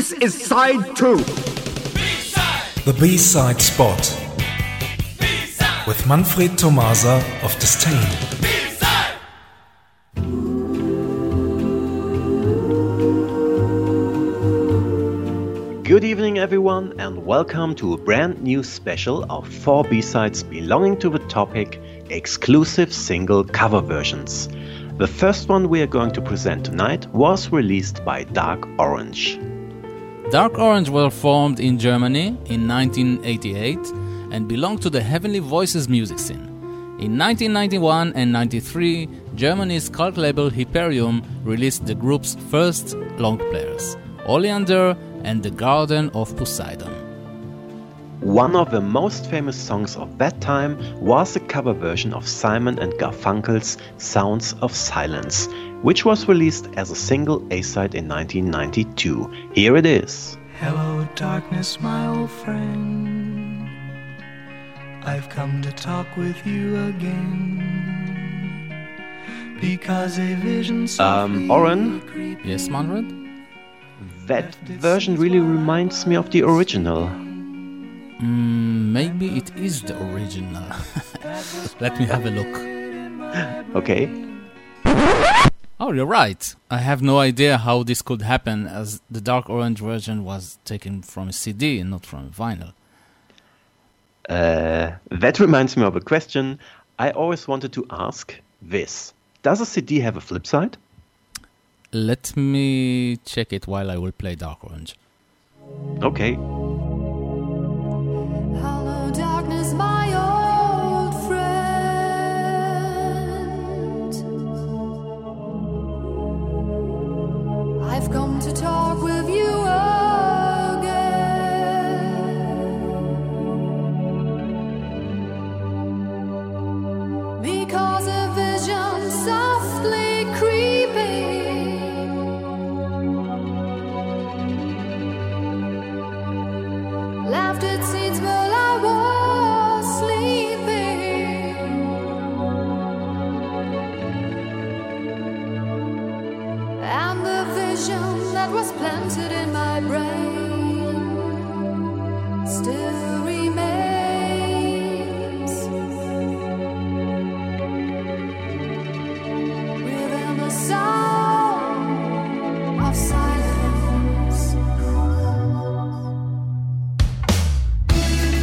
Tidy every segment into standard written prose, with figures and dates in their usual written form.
This is side 2. The B-side spot. With Manfred Tomasa of Disdain. Good evening everyone and welcome to a brand new special of 4 B-sides belonging to the topic exclusive single cover versions. The first one we are going to present tonight was released by Dark Orange. Dark Orange were formed in Germany in 1988 and belonged to the Heavenly Voices music scene. In 1991 and 93, Germany's cult label Hyperion released the group's first long players, Oleander and The Garden of Poseidon. One of the most famous songs of that time was a cover version of Simon and Garfunkel's Sounds of Silence, which was released as a single A-side in 1992. Here it is. Hello darkness, my old friend. I've come to talk with you again. Because a vision Oren? Yes, Manfred? That version really reminds me of the original. Maybe it is the original. Let me have a look. Okay. Oh, you're right. I have no idea how this could happen, as the Dark Orange version was taken from a CD and not from vinyl. That reminds me of a question I always wanted to ask this. Does a CD have a flip side? Let me check it while I will play Dark Orange. Okay. Hello, darkness, my old friend. I've come to talk with you again. Because a vision softly creeping left its seeds while I was sleeping. And the vision that was planted in my brain still remains within the sound of silence.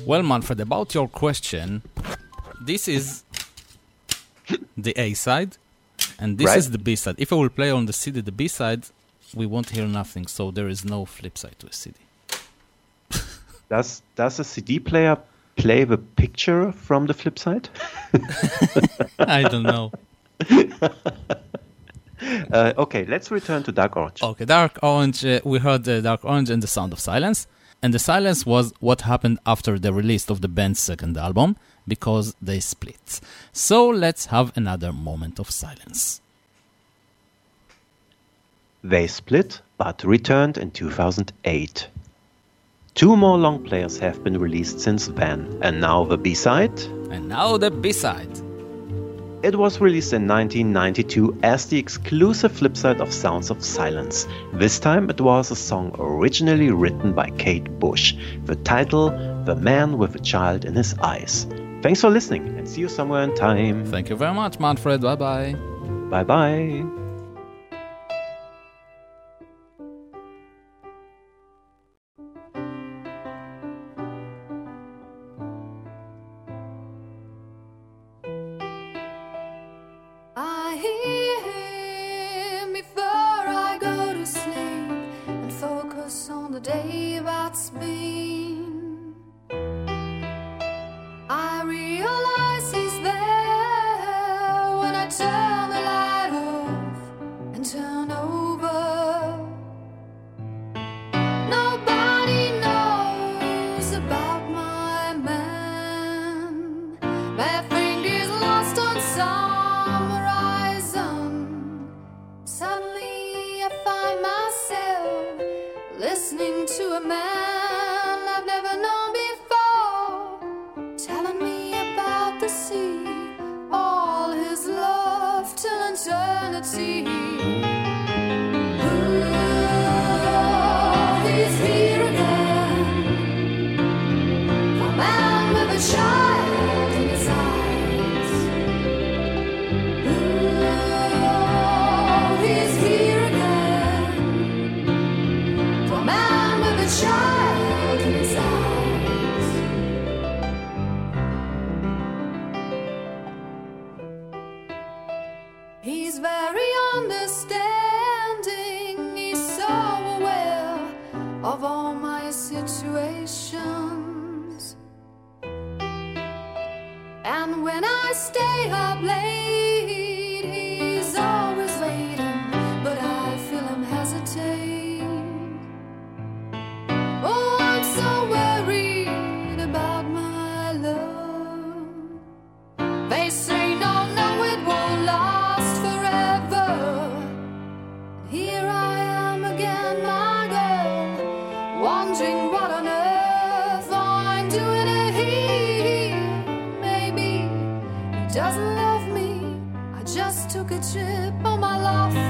Well, Manfred, about your question, this is the A side, and this is the B side. If I will play on the CD the B side, we won't hear nothing, so there is no flip side to a CD. Does a CD player play the picture from the flip side? I don't know. Okay, let's return to Dark Orange. Okay, Dark Orange, we heard Dark Orange and The Sound of Silence. And the silence was what happened after the release of the band's second album, because they split. So let's have another moment of silence. They split, but returned in 2008. 2 more long players have been released since then, and now the B-side. And now the B-side. It was released in 1992 as the exclusive flip side of Sounds of Silence. This time it was a song originally written by Kate Bush. The title, The Man with a Child in His Eyes. Thanks for listening and see you somewhere in time. Thank you very much, Manfred. Bye-bye. Bye-bye. Day that's been, I realize he's there when I turn the light off and turn over. Nobody knows about my man. My finger's lost on some horizon. Suddenly I find myself listening to a man I've never known before, telling me about the sea, all his love till eternity. Ooh, he's here again, a man with a child in his eyes. Ooh, he's here again, a man with a child in his eyes. He's very understanding, he's so aware of all my situations. And when I stay up late, he's always waiting, but I feel him hesitate. Oh, I'm so worried about my love. They say no, it won't last forever. Here I am again, my girl, wondering what on earth I'm doing here. Maybe he doesn't love me, I just took a trip on my love